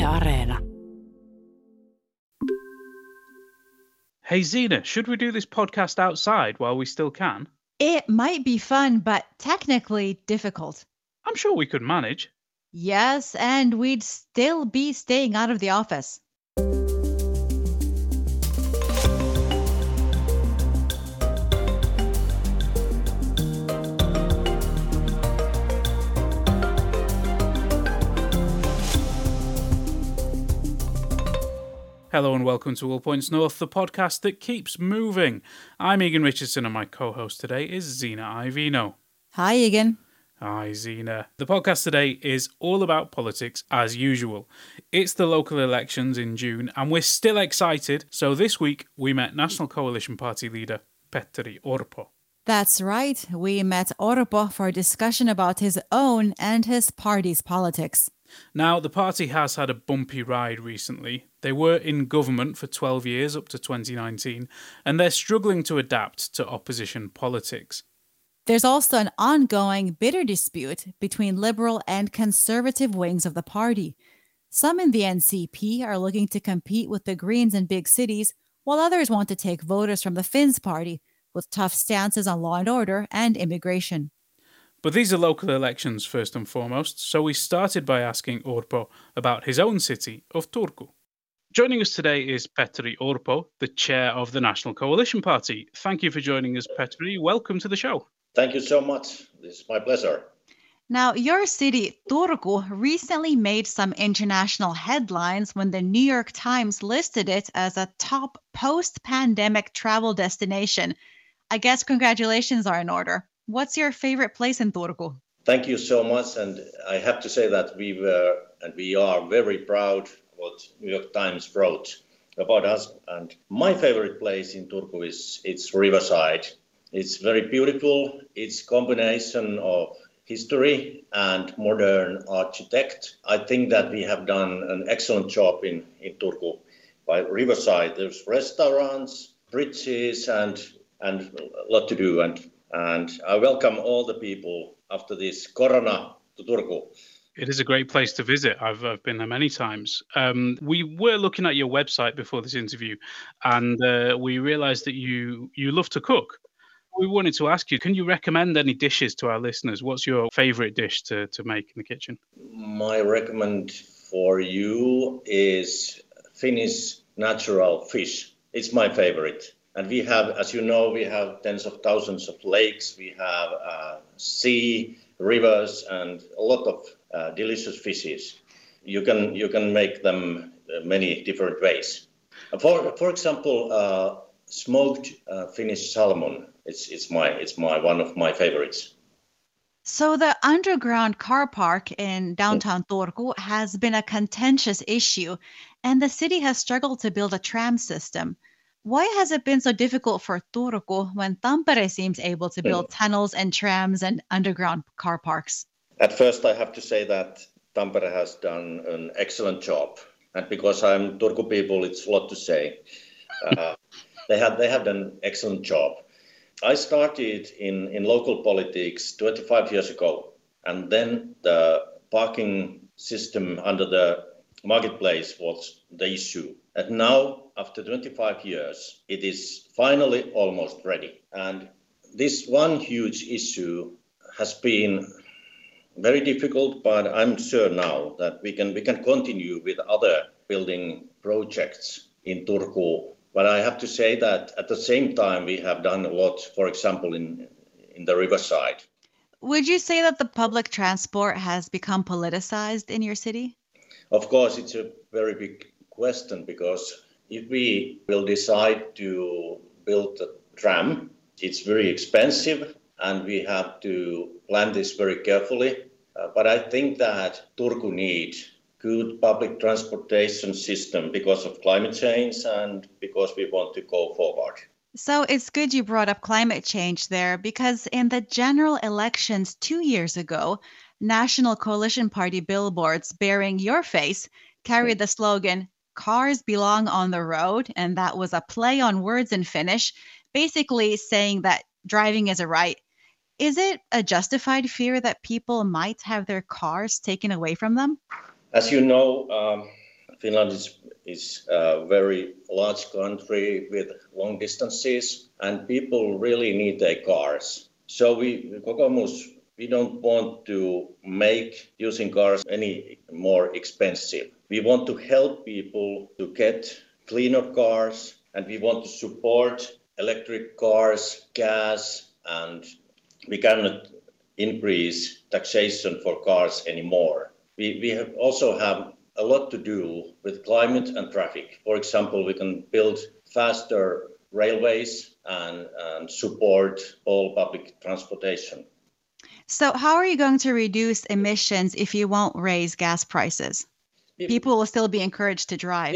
Areena. Hey Zena, should we do this podcast outside while we still can? It might be fun, but technically difficult. I'm sure we could manage. Yes, and we'd still be staying out of the office. Hello and welcome to All Points North, the podcast that keeps moving. I'm Egan Richardson and my co-host today is Zena Ivino. Hi, Egan. Hi, Zena. The podcast today is all about politics as usual. It's the local elections in June and we're still excited. So this week we met National Coalition Party leader Petteri Orpo. That's right. We met Orpo for a discussion about his own and his party's politics. Now, the party has had a bumpy ride recently. They were in government for 12 years up to 2019, and they're struggling to adapt to opposition politics. There's also an ongoing bitter dispute between liberal and conservative wings of the party. Some in the NCP are looking to compete with the Greens in big cities, while others want to take voters from the Finns party, with tough stances on law and order and immigration. But these are local elections first and foremost, so we started by asking Orpo about his own city of Turku. Joining us today is Petteri Orpo, the chair of the National Coalition Party. Thank you for joining us, Petteri. Welcome to the show. Thank you so much. This is my pleasure. Now, your city, Turku, recently made some international headlines when the New York Times listed it as a top post-pandemic travel destination. I guess congratulations are in order. What's your favorite place in Turku? Thank you so much. And I have to say that we are very proud what New York Times wrote about us. And my favorite place in Turku is it's Riverside. It's very beautiful. It's a combination of history and modern architect. I think that we have done an excellent job in Turku. By Riverside, there's restaurants, bridges, and a lot to do. And I welcome all the people after this corona to Turku. It is a great place to visit. I've been there many times. We were looking at your website before this interview, and we realised that you love to cook. We wanted to ask you, can you recommend any dishes to our listeners? What's your favourite dish to make in the kitchen? My recommend for you is Finnish natural fish. It's my favourite. And we have, as you know, we have tens of thousands of lakes. We have sea, rivers, and a lot of delicious fishes. You can make them many different ways. For example, smoked Finnish salmon. It's my one of my favorites. So the underground car park in downtown Turku has been a contentious issue, and the city has struggled to build a tram system. Why has it been so difficult for Turku when Tampere seems able to build tunnels and trams and underground car parks? At first, I have to say that Tampere has done an excellent job. And because I'm Turku people, it's a lot to say. They have done an excellent job. I started in local politics 25 years ago. And then the parking system under the marketplace was the issue. And now, after 25 years, it is finally almost ready. And this one huge issue has been very difficult, but I'm sure now that we can continue with other building projects in Turku. But I have to say that at the same time, we have done a lot, for example, in the Riverside. Would you say that the public transport has become politicized in your city? Of course, it's a very big question, because if we will decide to build a tram, it's very expensive and we have to plan this very carefully. But I think that Turku needs good public transportation system because of climate change and because we want to go forward. So it's good you brought up climate change there, because in the general elections 2 years ago, National Coalition Party billboards bearing your face carried the slogan, "Cars belong on the road," and that was a play on words in Finnish, basically saying that driving is a right. Is it a justified fear that people might have their cars taken away from them? As you know, Finland is a very large country with long distances, and people really need their cars. So Kokoomus, we don't want to make using cars any more expensive. We want to help people to get cleaner cars, and we want to support electric cars, gas, and we cannot increase taxation for cars anymore. We also have a lot to do with climate and traffic. For example, we can build faster railways and support all public transportation. So how are you going to reduce emissions if you won't raise gas prices? People will still be encouraged to drive.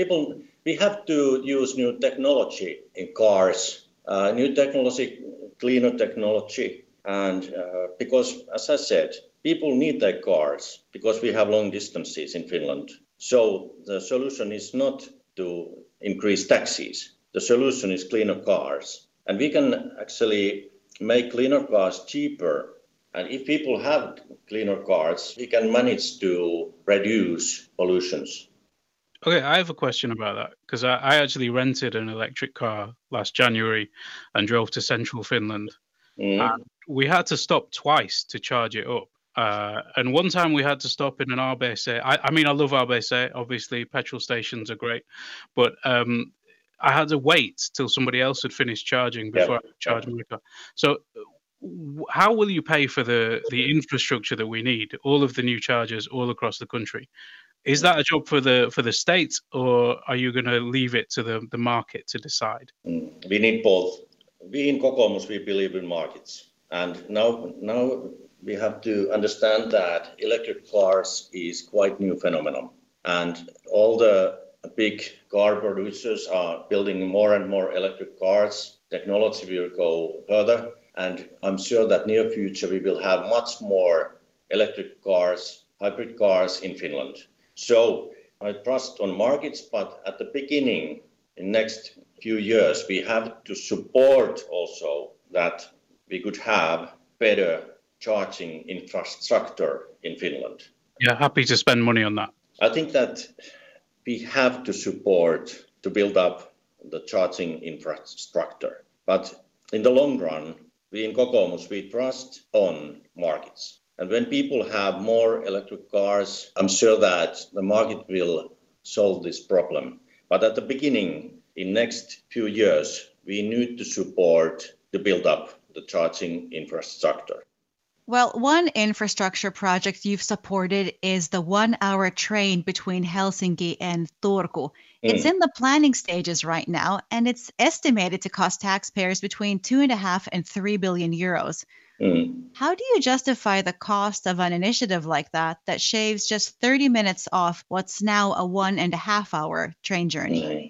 We have to use new technology in cars, new technology, cleaner technology. And because, as I said, people need their cars because we have long distances in Finland. So the solution is not to increase taxes. The solution is cleaner cars. And we can actually make cleaner cars cheaper. And if people have cleaner cars, we can manage to reduce pollutions. Okay, I have a question about that because I actually rented an electric car last January and drove to central Finland. And we had to stop twice to charge it up. And one time we had to stop in an RBC. I mean, I love RBC. Obviously, petrol stations are great. But I had to wait till somebody else had finished charging before I could charge my car. So how will you pay for the infrastructure that we need, all of the new chargers all across the country? Is that a job for the state, or are you going to leave it to the market to decide? We need both. We in Kokoomus, we believe in markets. And now we have to understand that electric cars is quite new phenomenon. And all the big car producers are building more and more electric cars. Technology will go further. And I'm sure that near future we will have much more electric cars, hybrid cars in Finland. So I trust on markets, but at the beginning, in next few years, we have to support also that we could have better charging infrastructure in Finland. Yeah, happy to spend money on that. I think that we have to support to build up the charging infrastructure. But in the long run, we in Kokoomus, we trust on markets. And when people have more electric cars, I'm sure that the market will solve this problem. But at the beginning, in next few years, we need to support to build up the charging infrastructure. Well, one infrastructure project you've supported is the 1-hour train between Helsinki and Turku. It's in the planning stages right now, and it's estimated to cost taxpayers between 2.5 and 3 billion euros. How do you justify the cost of an initiative like that shaves just 30 minutes off what's now a 1.5-hour train journey?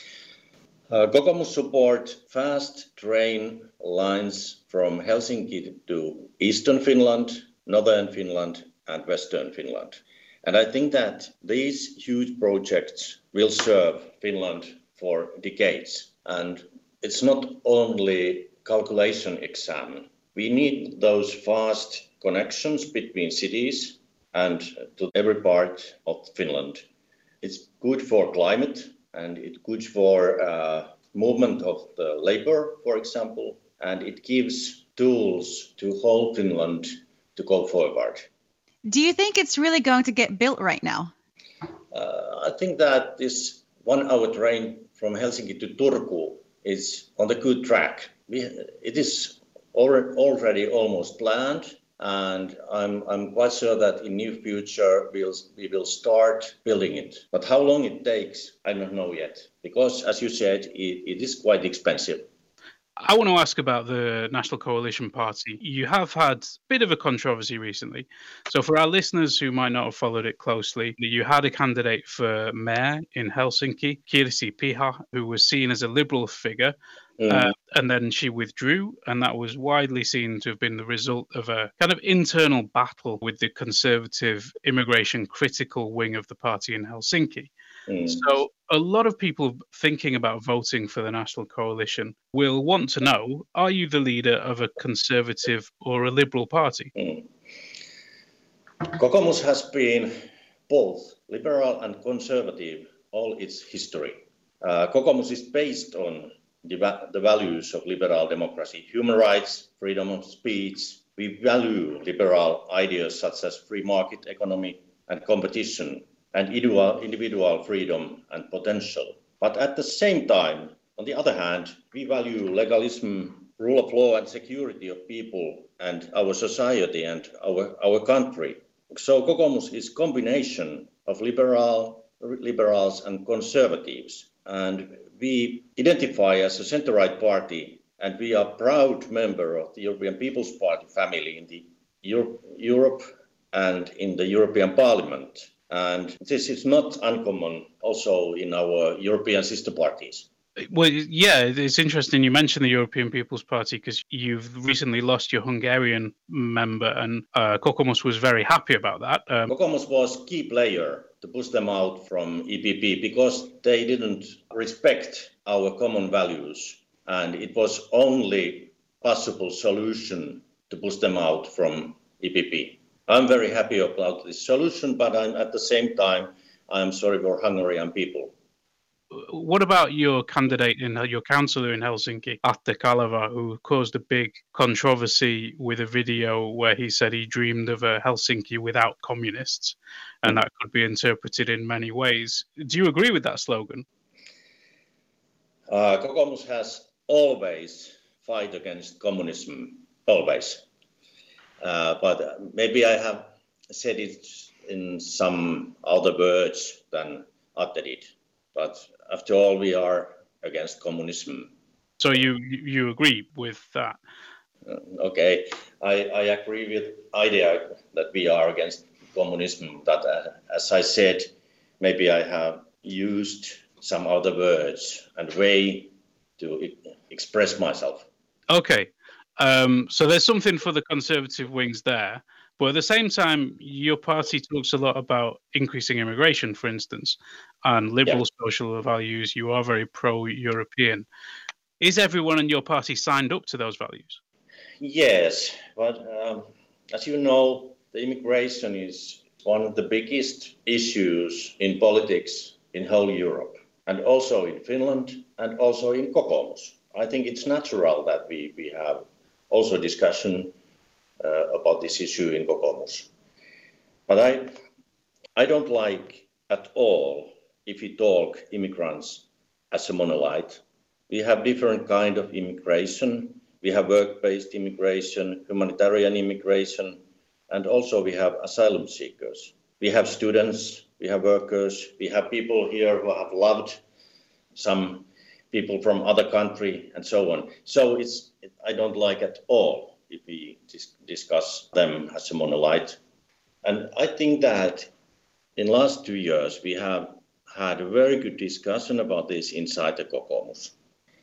Kokoomus support fast train lines from Helsinki to Eastern Finland, Northern Finland, and Western Finland. And I think that these huge projects will serve Finland for decades. And it's not only calculation exam. We need those fast connections between cities and to every part of Finland. It's good for climate and it's good for movement of the labor, for example, and it gives tools to whole Finland to go forward. Do you think it's really going to get built right now? I think that this 1-hour train from Helsinki to Turku is on the good track. It is already almost planned, and I'm quite sure that in near future we will start building it. But how long it takes, I don't know yet, because as you said, it is quite expensive. I want to ask about the National Coalition Party. You have had a bit of a controversy recently. So for our listeners who might not have followed it closely, you had a candidate for mayor in Helsinki, Kirsi Piha, who was seen as a liberal figure. And then she withdrew, and that was widely seen to have been the result of a kind of internal battle with the conservative immigration critical wing of the party in Helsinki. So a lot of people thinking about voting for the National Coalition will want to know, are you the leader of a conservative or a liberal party? Kokoomus has been both liberal and conservative all its history. Kokoomus is based on the values of liberal democracy, human rights, freedom of speech. We value liberal ideas such as free market economy and competition and individual freedom and potential. But at the same time, on the other hand, we value legalism, rule of law and security of people and our society and our country. So Kokoomus is a combination of liberals and conservatives. And we identify as a centre-right party, and we are a proud member of the European People's Party family in the Europe and in the European Parliament. And this is not uncommon also in our European sister parties. Well, yeah, it's interesting you mentioned the European People's Party because you've recently lost your Hungarian member, and Kokoomus was very happy about that. Kokoomus was a key player to push them out from EPP because they didn't respect our common values, and it was only possible solution to push them out from EPP. I'm very happy about this solution, but at the same time, I'm sorry for Hungarian people. What about your candidate your councillor in Helsinki, Atte Kaleva, who caused a big controversy with a video where he said he dreamed of a Helsinki without communists, and that could be interpreted in many ways. Do you agree with that slogan? Kokoomus has always fight against communism, always. But maybe I have said it in some other words than Atte did. But after all, we are against communism. So you agree with that? Okay, I agree with idea that we are against communism. That, as I said, maybe I have used some other words and way to express myself. Okay, so there's something for the conservative wings there. But at the same time, your party talks a lot about increasing immigration, for instance, and liberal social values. You are very pro-European. Is everyone in your party signed up to those values? Yes, but as you know, the immigration is one of the biggest issues in politics in whole Europe, and also in Finland, and also in Kokoomus. I think it's natural that we have also discussion about this issue in Kokoomus. But I don't like at all if we talk immigrants as a monolith. We have different kind of immigration. We have work-based immigration, humanitarian immigration, and also we have asylum seekers. We have students, we have workers, we have people here who have loved some people from other country and so on. So I don't like at all if we discuss them as a monolith. And I think that in the last 2 years, we have had a very good discussion about this inside the Kokoomus.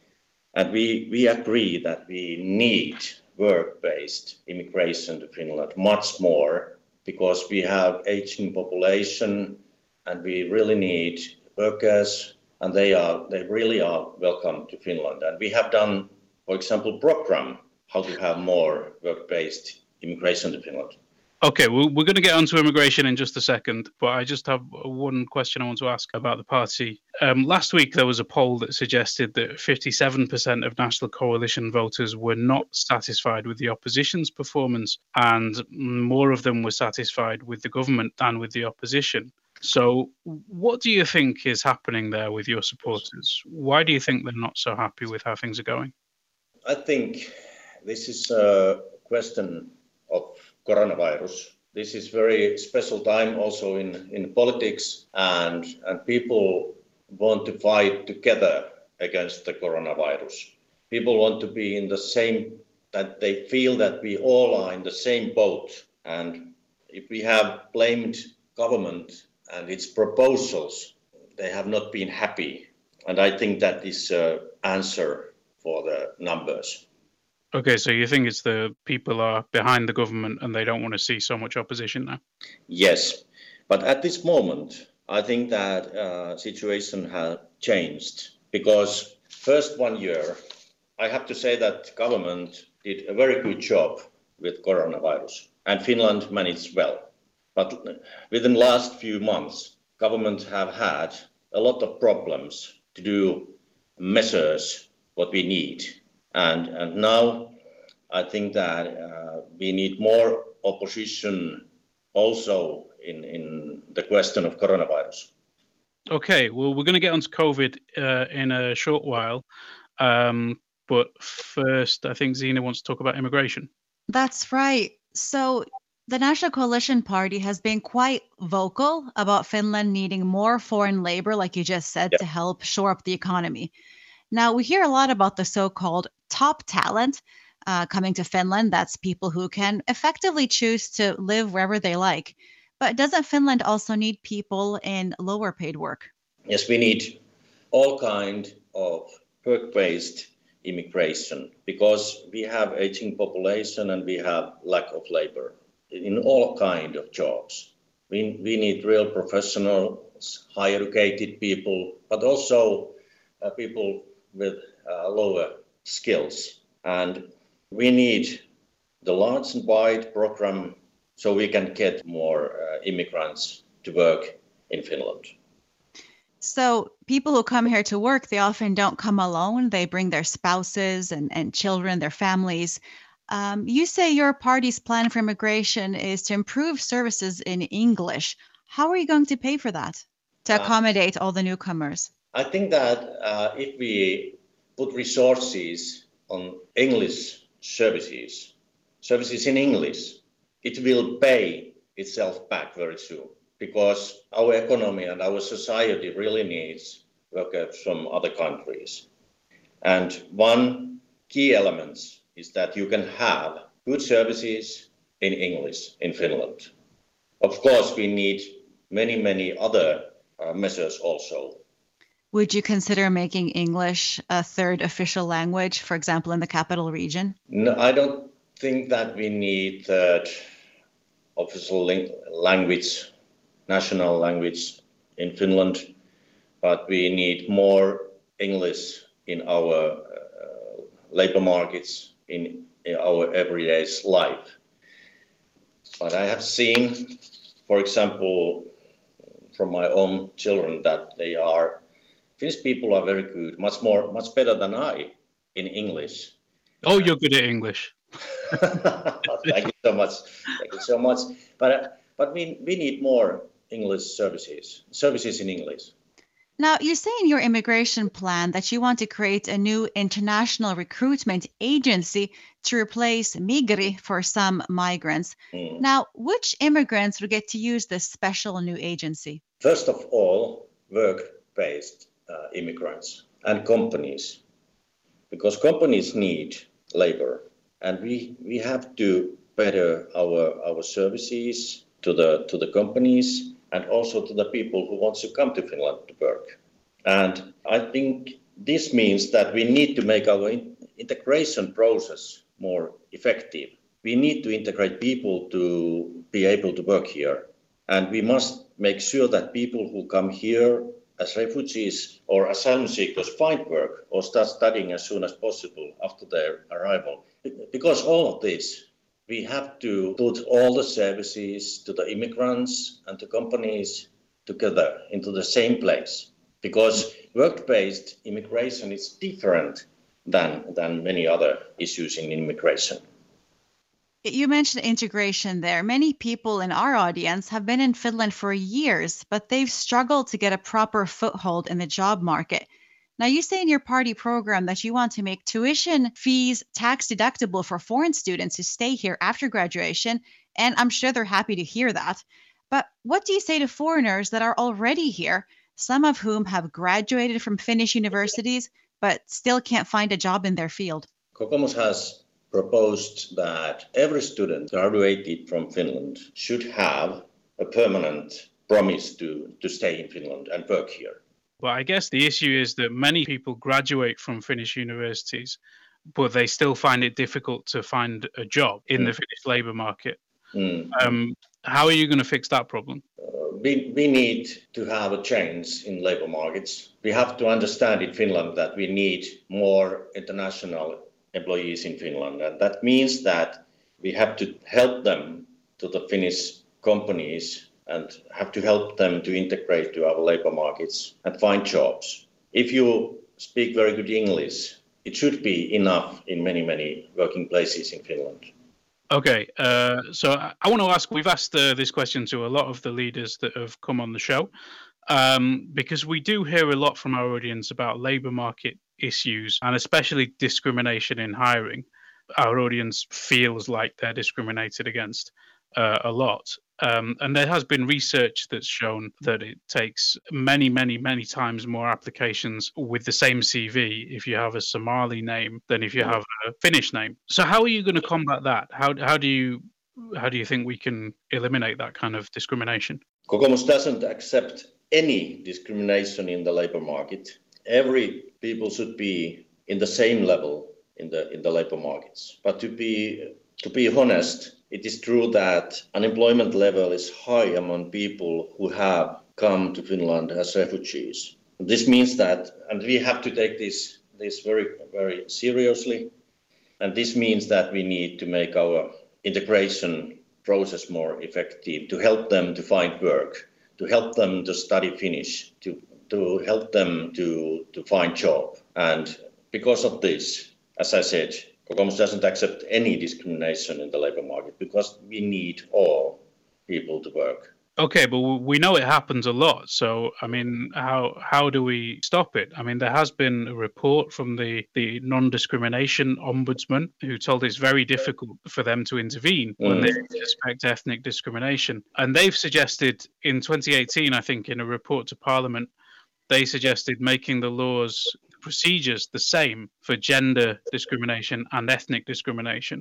And we agree that we need work-based immigration to Finland much more because we have aging population and we really need workers and they really are welcome to Finland. And we have done, for example, program how to have more work-based immigration to Finland. Okay, we're going to get onto immigration in just a second, but I just have one question I want to ask about the party. Last week, there was a poll that suggested that 57% of National Coalition voters were not satisfied with the opposition's performance, and more of them were satisfied with the government than with the opposition. So what do you think is happening there with your supporters? Why do you think they're not so happy with how things are going? I think this is a question of coronavirus. This is very special time also in politics and people want to fight together against the coronavirus. People want to be in the same, that they feel that we all are in the same boat. And if we have blamed government and its proposals, they have not been happy. And I think that is an answer for the numbers. Okay, so you think it's the people are behind the government and they don't want to see so much opposition now? Yes, but at this moment, I think that situation has changed because first 1 year, I have to say that government did a very good job with coronavirus and Finland managed well. But within the last few months, governments have had a lot of problems to do measures what we need. And now I think that we need more opposition also in the question of coronavirus. Okay, well, we're going to get onto COVID in a short while. But first, I think Zina wants to talk about immigration. That's right. So the National Coalition Party has been quite vocal about Finland needing more foreign labor, like you just said, to help shore up the economy. Now, we hear a lot about the so-called top talent coming to Finland. That's people who can effectively choose to live wherever they like. But doesn't Finland also need people in lower paid work? Yes, we need all kind of work-based immigration because we have aging population and we have lack of labor in all kind of jobs. We need real professionals, high educated people, but also people with lower skills. And we need the large and wide program so we can get more immigrants to work in Finland. So people who come here to work, they often don't come alone. They bring their spouses and children, their families. You say your party's plan for immigration is to improve services in English. How are you going to pay for that to accommodate all the newcomers? I think that if we put resources on English services in English, it will pay itself back very soon because our economy and our society really needs workers from other countries. And one key element is that you can have good services in English in Finland. Of course, we need many other measures also. Would you consider making English a third official language, for example, in the capital region? No, I don't think that we need third official language, national language in Finland, but we need more English in our labor markets, in our everyday life. But I have seen, for example, from my own children that Finnish people are very good, much better than I in English. Oh, you're good at English. Thank you so much. Thank you so much. But we need more English services in English. Now, you say in your immigration plan that you want to create a new international recruitment agency to replace Migri for some migrants. Now, which immigrants would get to use this special new agency? First of all, work-based immigrants and companies, because companies need labor, and we have to better our services to the companies and also to the people who want to come to Finland to work. And I think this means that we need to make our integration process more effective. We need to integrate people to be able to work here. And we must make sure that people who come here as refugees or asylum seekers find work or start studying as soon as possible after their arrival. Because all of this, we have to put all the services to the immigrants and the companies together into the same place. Because work-based immigration is different than many other issues in immigration. You mentioned integration there. Many people in our audience have been in Finland for years, but they've struggled to get a proper foothold in the job market. Now, you say in your party program that you want to make tuition fees tax deductible for foreign students who stay here after graduation, and I'm sure they're happy to hear that. But what do you say to foreigners that are already here, some of whom have graduated from Finnish universities, but still can't find a job in their field? Kokoomus has proposed that every student graduated from Finland should have a permanent promise to stay in Finland and work here. Well, I guess the issue is that many people graduate from Finnish universities, but they still find it difficult to find a job in the Finnish labour market. How are you going to fix that problem? We need to have a change in labour markets. We have to understand in Finland that we need more international employees in Finland. And that means that we have to help them to the Finnish companies and have to help them to integrate to our labor markets and find jobs. If you speak very good English, it should be enough in many, many working places in Finland. Okay, so I want to ask, we've asked this question to a lot of the leaders that have come on the show, because we do hear a lot from our audience about labour market issues and especially discrimination in hiring. Our audience feels like they're discriminated against a lot. And there has been research that's shown that it takes many, many, many times more applications with the same CV if you have a Somali name than if you have a Finnish name. So how are you going to combat that? How do you think we can eliminate that kind of discrimination? Kokoomus doesn't accept any discrimination in the labor market. Every people should be in the same level in the labor markets. But to be honest, it is true that unemployment level is high among people who have come to Finland as refugees. This means that, and we have to take this very, very seriously. And this means that we need to make our integration process more effective, to help them to find work, to help them to study Finnish, to help them to find job. And because of this, as I said, Kokoomus doesn't accept any discrimination in the labor market because we need all people to work. Okay, but we know it happens a lot. So, I mean, how do we stop it? I mean, there has been a report from the non-discrimination ombudsman who told it's very difficult for them to intervene when they suspect ethnic discrimination. And they've suggested in 2018, I think, in a report to Parliament, they suggested making the laws, procedures the same for gender discrimination and ethnic discrimination.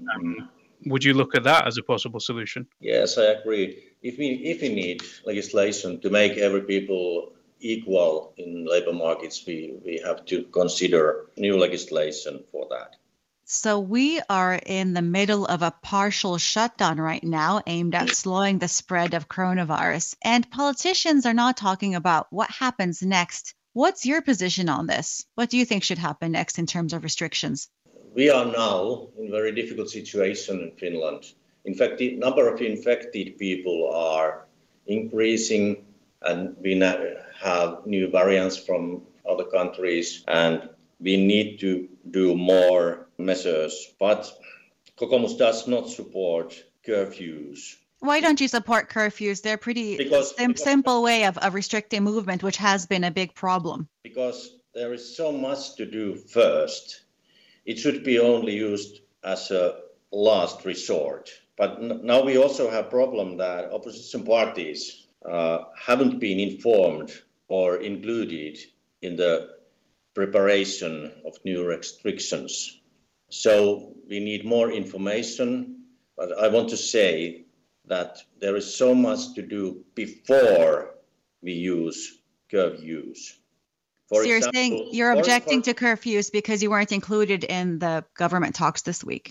Would you look at that as a possible solution? Yes, I agree. If we need legislation to make every people equal in labor markets, we have to consider new legislation for that. So we are in the middle of a partial shutdown right now aimed at slowing the spread of coronavirus. And politicians are not talking about what happens next. What's your position on this? What do you think should happen next in terms of restrictions? We are now in a very difficult situation in Finland. In fact, the number of infected people are increasing, and we now have new variants from other countries, and we need to do more measures. But Kokoomus does not support curfews. Why don't you support curfews? They're pretty simple way of restricting movement, which has been a big problem. Because there is so much to do first. It should be only used as a last resort. But now we also have a problem that opposition parties haven't been informed or included in the preparation of new restrictions. So we need more information, but I want to say that there is so much to do before we use curfews. So you're saying you're objecting to curfews because you weren't included in the government talks this week?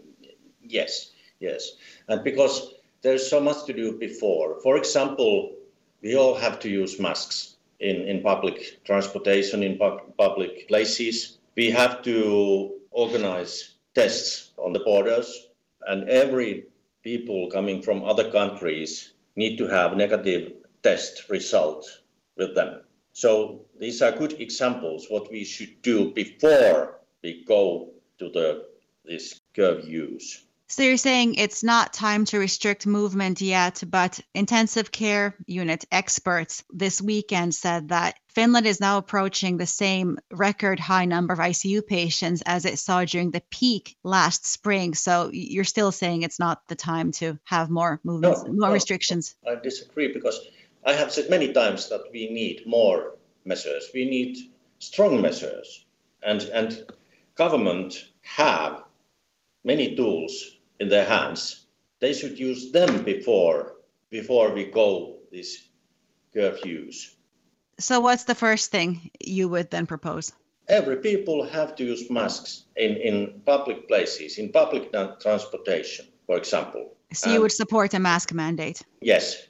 Yes. And because there's so much to do before. For example, we all have to use masks in public transportation, in public places. We have to organize tests on the borders, and every people coming from other countries need to have negative test result with them. So these are good examples what we should do before we go to this curfews. So you're saying it's not time to restrict movement yet, but intensive care unit experts this weekend said that Finland is now approaching the same record high number of ICU patients as it saw during the peak last spring. So you're still saying it's not the time to have more movements, more restrictions? I disagree, because I have said many times that we need more measures. We need strong measures, and government have many tools in their hands. They should use them before we go these curfews. So what's the first thing you would then propose? Every people have to use masks in public places, in public transportation, for example. So you would support a mask mandate? Yes.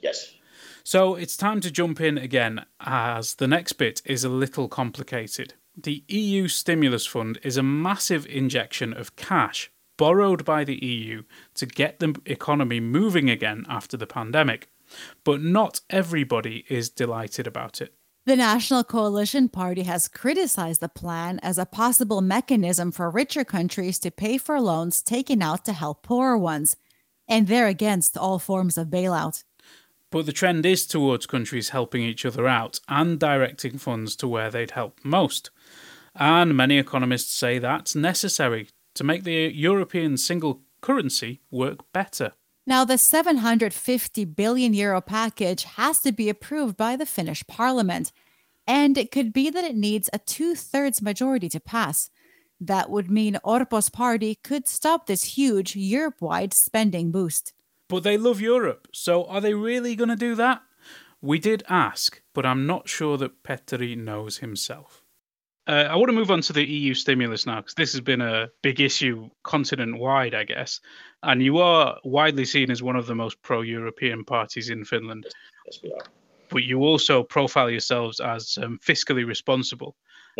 So it's time to jump in again, as the next bit is a little complicated. The EU stimulus fund is a massive injection of cash borrowed by the EU to get the economy moving again after the pandemic. But not everybody is delighted about it. The National Coalition Party has criticized the plan as a possible mechanism for richer countries to pay for loans taken out to help poorer ones, and they're against all forms of bailout. But the trend is towards countries helping each other out and directing funds to where they'd help most. And many economists say that's necessary to make the European single currency work better. Now, the €750 billion package has to be approved by the Finnish parliament, and it could be that it needs a 2/3 majority to pass. That would mean Orpo's party could stop this huge Europe-wide spending boost. But they love Europe, so are they really going to do that? We did ask, but I'm not sure that Petteri knows himself. I want to move on to the EU stimulus now, because this has been a big issue continent-wide, I guess. And you are widely seen as one of the most pro-European parties in Finland. Yes, we are. But you also profile yourselves as fiscally responsible.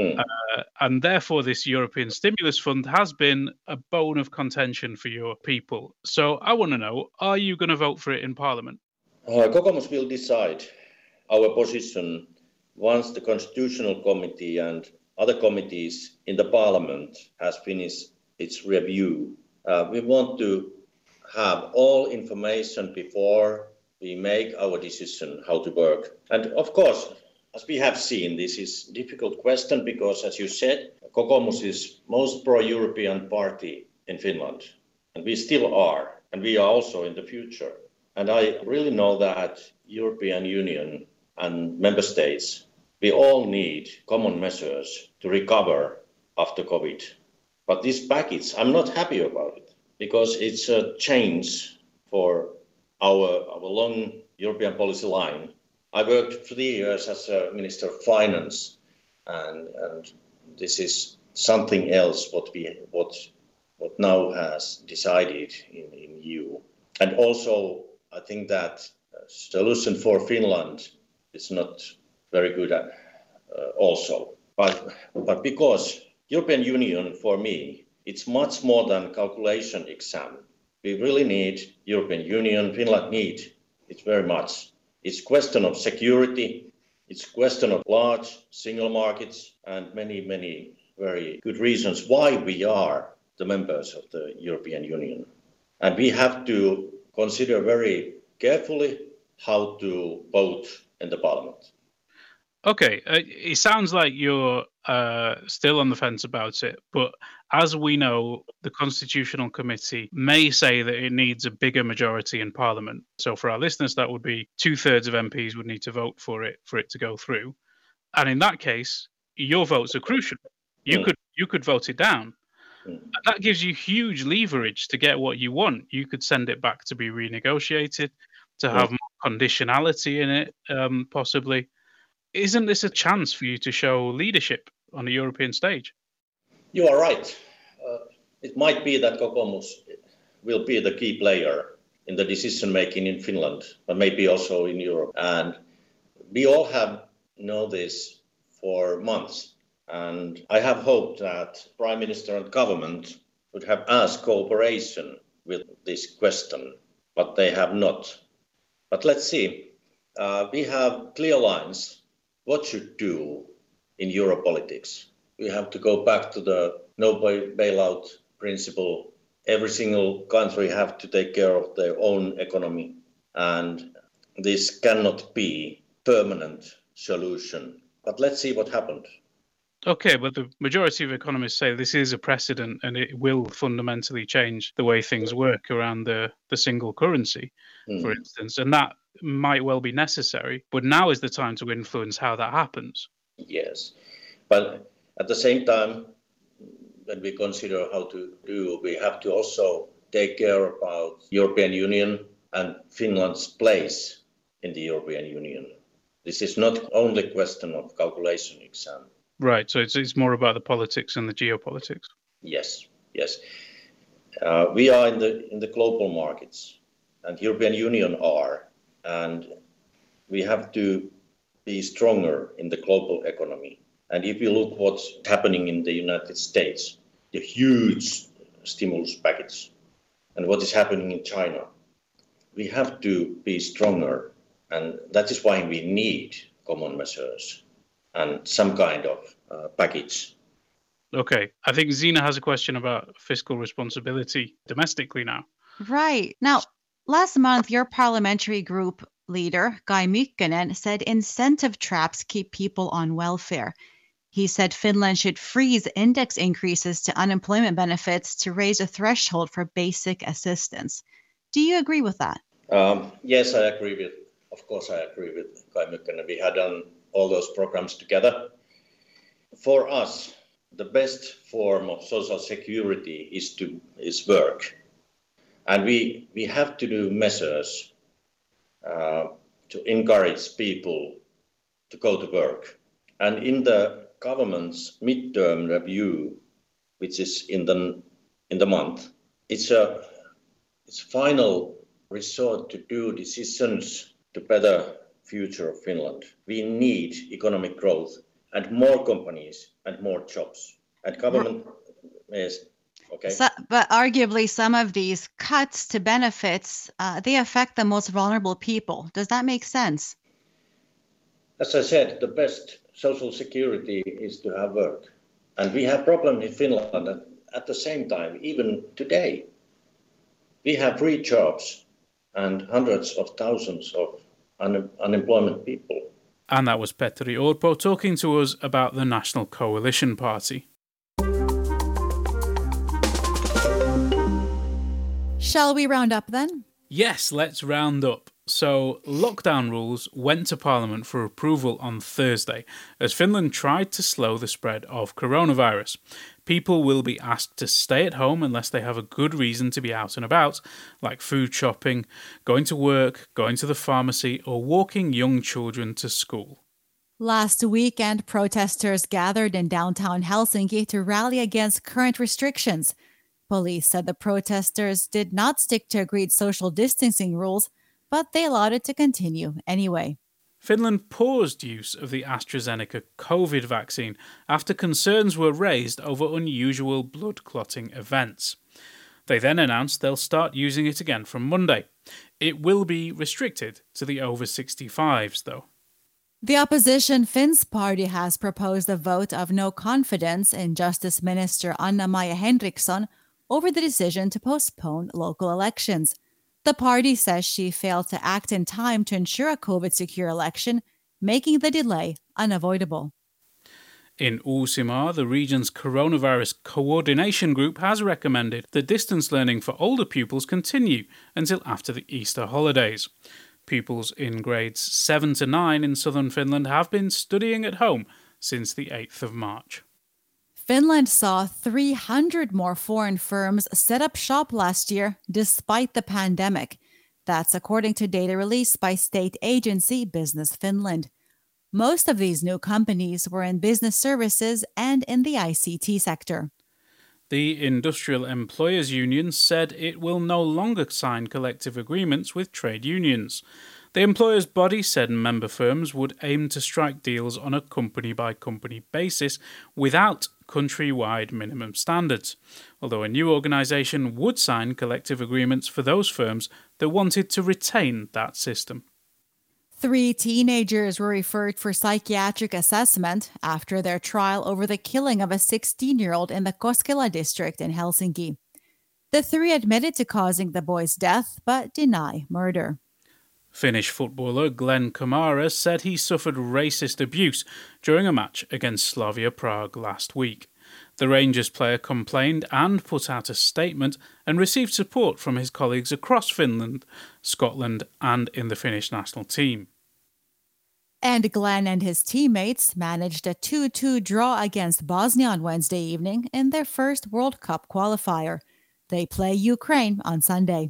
And therefore, this European Stimulus Fund has been a bone of contention for your people. So I want to know, are you going to vote for it in Parliament? Kokoomus will decide our position once the Constitutional Committee and other committees in the Parliament has finished its review. We want to have all information before we make our decision how to work. And of course, as we have seen, this is a difficult question because, as you said, Kokoomus is most pro-European party in Finland. And we still are, and we are also in the future. And I really know that European Union and member states, we all need common measures to recover after COVID. But this package, I'm not happy about it because it's a change for our long European policy line. I worked 3 years as a Minister of Finance, and this is something else what now has decided in EU. And also, I think that solution for Finland is not very good also. But because European Union, for me, it's much more than calculation exam. We really need European Union, Finland need it very much. It's question of security, it's question of large single markets and many very good reasons why we are the members of the European Union. And we have to consider very carefully how to vote in the Parliament. Okay, it sounds like you're still on the fence about it, but as we know, the Constitutional Committee may say that it needs a bigger majority in Parliament. So for our listeners, that would be 2/3 of MPs would need to vote for it to go through. And in that case, your votes are crucial. You could vote it down. And that gives you huge leverage to get what you want. You could send it back to be renegotiated, to have more conditionality in it, possibly. Isn't this a chance for you to show leadership on a European stage? You are right. It might be that Kokoomus will be the key player in the decision making in Finland, but maybe also in Europe. And we all have known this for months. And I have hoped that Prime Minister and government would have asked cooperation with this question, but they have not. But let's see. We have clear lines. What should do in Europolitics? We have to go back to the no bailout principle. Every single country have to take care of their own economy. And this cannot be permanent solution. But let's see what happened. Okay, but the majority of economists say this is a precedent and it will fundamentally change the way things work around the single currency, for instance. And that might well be necessary, but now is the time to influence how that happens. Yes, but at the same time, when we consider how to do, we have to also take care about European Union and Finland's place in the European Union. This is not only a question of calculation exam. Right, so it's more about the politics and the geopolitics. Yes. We are in the global markets, and European Union are, and we have to be stronger in the global economy. And if you look what's happening in the United States, the huge stimulus package and what is happening in China. We have to be stronger, and that is why we need common measures and some kind of package. Okay, I think Zina has a question about fiscal responsibility domestically now. Right. Now, last month, your parliamentary group leader, Kai Mykkänen, said incentive traps keep people on welfare. He said Finland should freeze index increases to unemployment benefits to raise a threshold for basic assistance. Do you agree with that? Yes, I agree of course I agree with Kai Mykkänen. We had done all those programs together. For us, the best form of social security is work. And we have to do measures to encourage people to go to work. And in the government's midterm review, which is in the month, it's final resort to do decisions to better future of Finland. We need economic growth and more companies and more jobs. And government is okay. But arguably, some of these cuts to benefits, they affect the most vulnerable people. Does that make sense? As I said, the best social security is to have work. And we have problems in Finland. And at the same time, even today, we have free jobs and hundreds of thousands of unemployment people. And that was Petteri Orpo talking to us about the National Coalition Party. Shall we round up then? Yes, let's round up. So, lockdown rules went to Parliament for approval on Thursday as Finland tried to slow the spread of coronavirus. People will be asked to stay at home unless they have a good reason to be out and about, like food shopping, going to work, going to the pharmacy, or walking young children to school. Last weekend, protesters gathered in downtown Helsinki to rally against current restrictions. Police said the protesters did not stick to agreed social distancing rules, but they allowed it to continue anyway. Finland paused use of the AstraZeneca COVID vaccine after concerns were raised over unusual blood clotting events. They then announced they'll start using it again from Monday. It will be restricted to the over 65s, though. The opposition Finns party has proposed a vote of no confidence in Justice Minister Anna-Maja Henriksson over the decision to postpone local elections. The party says she failed to act in time to ensure a COVID-secure election, making the delay unavoidable. In Uusimaa, the region's coronavirus coordination group has recommended that distance learning for older pupils continue until after the Easter holidays. Pupils in grades 7 to 9 in southern Finland have been studying at home since the 8th of March. Finland saw 300 more foreign firms set up shop last year despite the pandemic. That's according to data released by state agency Business Finland. Most of these new companies were in business services and in the ICT sector. The Industrial Employers Union said it will no longer sign collective agreements with trade unions. The employers' body said member firms would aim to strike deals on a company-by-company basis without country-wide minimum standards, although a new organisation would sign collective agreements for those firms that wanted to retain that system. 3 teenagers were referred for psychiatric assessment after their trial over the killing of a 16-year-old in the Koskela district in Helsinki. The 3 admitted to causing the boy's death, but deny murder. Finnish footballer Glenn Kamara said he suffered racist abuse during a match against Slavia Prague last week. The Rangers player complained and put out a statement and received support from his colleagues across Finland, Scotland and in the Finnish national team. And Glenn and his teammates managed a 2-2 draw against Bosnia on Wednesday evening in their first World Cup qualifier. They play Ukraine on Sunday.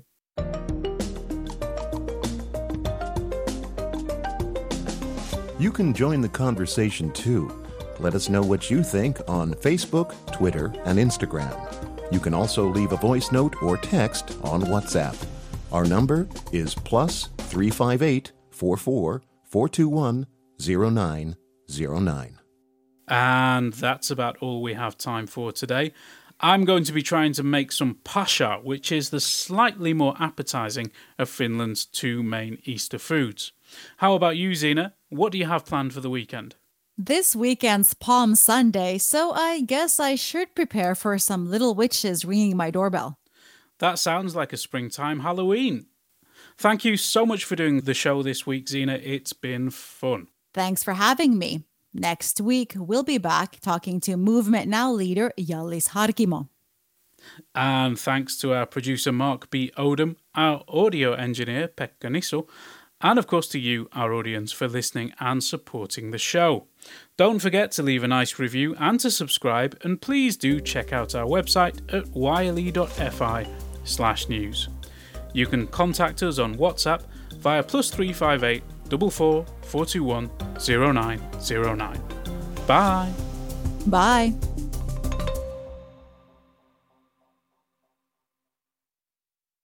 You can join the conversation too. Let us know what you think on Facebook, Twitter, and Instagram. You can also leave a voice note or text on WhatsApp. Our number is +358 44 421 0909. And that's about all we have time for today. I'm going to be trying to make some pasha, which is the slightly more appetising of Finland's two main Easter foods. How about you, Zena? What do you have planned for the weekend? This weekend's Palm Sunday, so I guess I should prepare for some little witches ringing my doorbell. That sounds like a springtime Halloween. Thank you so much for doing the show this week, Zena. It's been fun. Thanks for having me. Next week, we'll be back talking to Movement Now leader Hjallis Harkimo. And thanks to our producer Mark B. Odom, our audio engineer Pekka Nisso, and of course to you, our audience, for listening and supporting the show. Don't forget to leave a nice review and to subscribe, and please do check out our website at yle.fi/news. You can contact us on WhatsApp via +358 44 421 0909. Bye. Bye.